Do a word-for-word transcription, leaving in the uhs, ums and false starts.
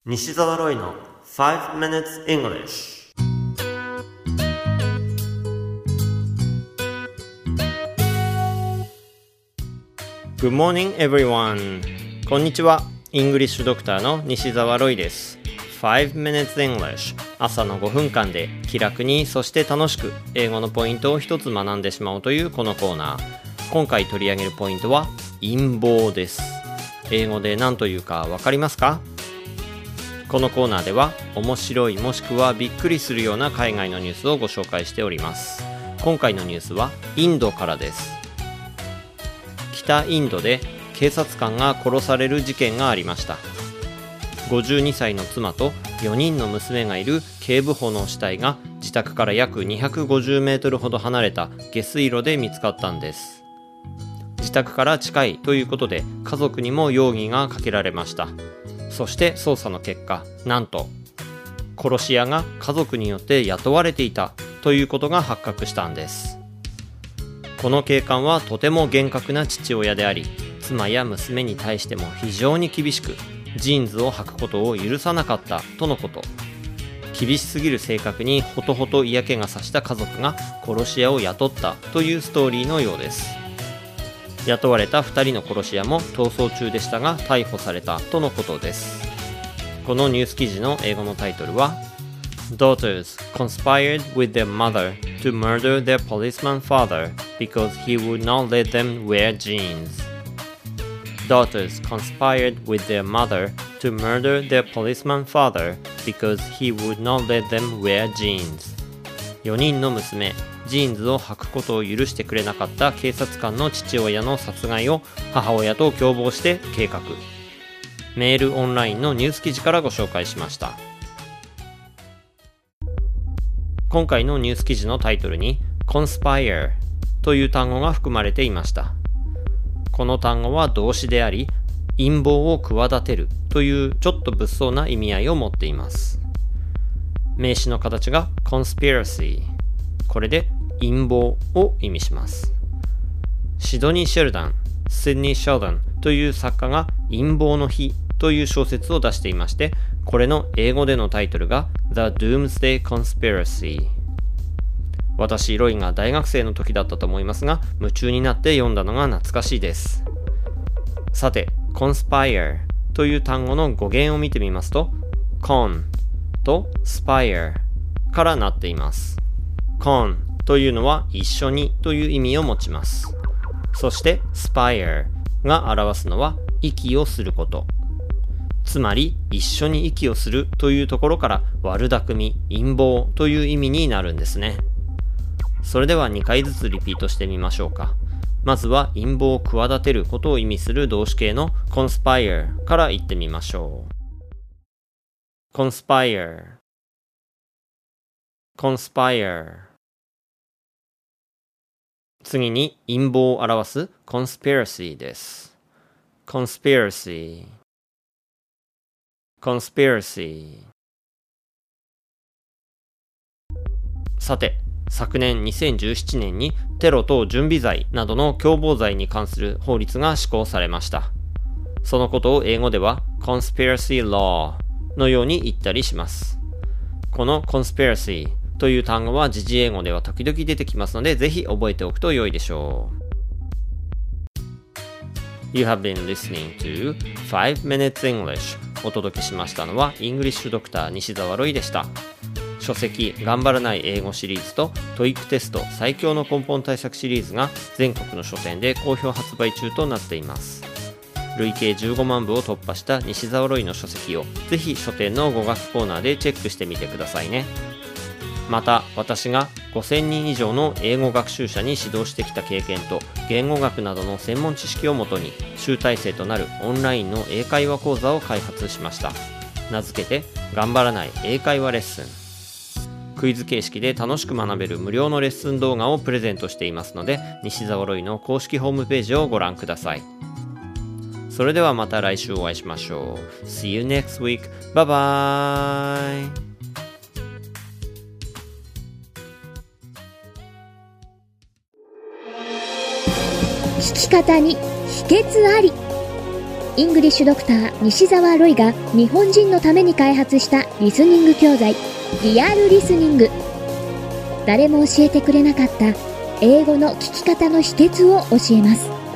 西澤ロイの five minutes English。 Good morning everyone。 こんにちは。イングリッシュドクターの西澤ロイです。 five minutes English、 朝のごふんかんで気楽にそして楽しく英語のポイントを一つ学んでしまおうというこのコーナー。今回取り上げるポイントは陰謀です。英語で何というかわかりますか？このコーナーでは面白いもしくはびっくりするような海外のニュースをご紹介しております。今回のニュースはインドからです。北インドで警察官が殺される事件がありました。ごじゅうにさいの妻とよにんの娘がいる警部補の死体が自宅から約にひゃくごじゅうメートルほど離れた下水路で見つかったんです。自宅から近いということで家族にも容疑がかけられました。そして捜査の結果、なんと殺し屋が家族によって雇われていたということが発覚したんです。この警官はとても厳格な父親であり、妻や娘に対しても非常に厳しく、ジーンズを履くことを許さなかったとのこと。厳しすぎる性格にほとほと嫌気がさした家族が殺し屋を雇ったというストーリーのようです。雇われたふたりの殺し屋も逃走中でしたが逮捕されたとのことです。このニュース記事の英語のタイトルは Daughters conspired with their mother to murder their policeman father because he would not let them wear jeans. Daughters conspired with their mother to murder their policeman father because he would not let them wear jeans. よにんの娘、ジーンズを履くことを許してくれなかった警察官の父親の殺害を母親と共謀して計画。メールオンラインのニュース記事からご紹介しました。今回のニュース記事のタイトルに conspire という単語が含まれていました。この単語は動詞であり、陰謀を企てるというちょっと物騒な意味合いを持っています。名詞の形が conspiracy。これで陰謀を意味します。シドニー・シェルダン、シドニー・シェルダンという作家が陰謀の日という小説を出していまして、これの英語でのタイトルが The Doomsday Conspiracy。 私ロイが大学生の時だったと思いますが、夢中になって読んだのが懐かしいです。さて conspire という単語の語源を見てみますと con と spire からなっています。con というのは一緒にという意味を持ちます。そして spire が表すのは息をすること。つまり一緒に息をするというところから悪巧み、陰謀という意味になるんですね。それではにかいずつリピートしてみましょうか。まずは陰謀を企てることを意味する動詞形の conspire から言ってみましょう。conspire conspire。 次に陰謀を表す conspiracy です。 conspiracy conspiracy。 さて昨年にせんじゅうななねんにテロ等準備罪などの共謀罪に関する法律が施行されました。そのことを英語では conspiracy law のように言ったりします。この conspiracy という単語は時事英語では時々出てきますので、ぜひ覚えておくと良いでしょう。You have been listening to five minutes English。 お届けしましたのはイングリッシュドクター西澤ロイでした。書籍頑張らない英語シリーズと トイック テスト最強の根本対策シリーズが全国の書店で好評発売中となっています。累計じゅうごまんぶを突破した西澤ロイの書籍をぜひ書店の語学コーナーでチェックしてみてくださいね。また私がごせんにん以上の英語学習者に指導してきた経験と言語学などの専門知識をもとに集大成となるオンラインの英会話講座を開発しました。名付けて頑張らない英会話レッスン。クイズ形式で楽しく学べる無料のレッスン動画をプレゼントしていますので、西澤ロイの公式ホームページをご覧ください。それではまた来週お会いしましょう。 See you next week. Bye bye. 聞き方に秘訣あり。 イングリッシュドクター西澤ロイが日本人のために開発したリスニング教材リアルリスニング。誰も教えてくれなかった英語の聞き方の秘訣を教えます。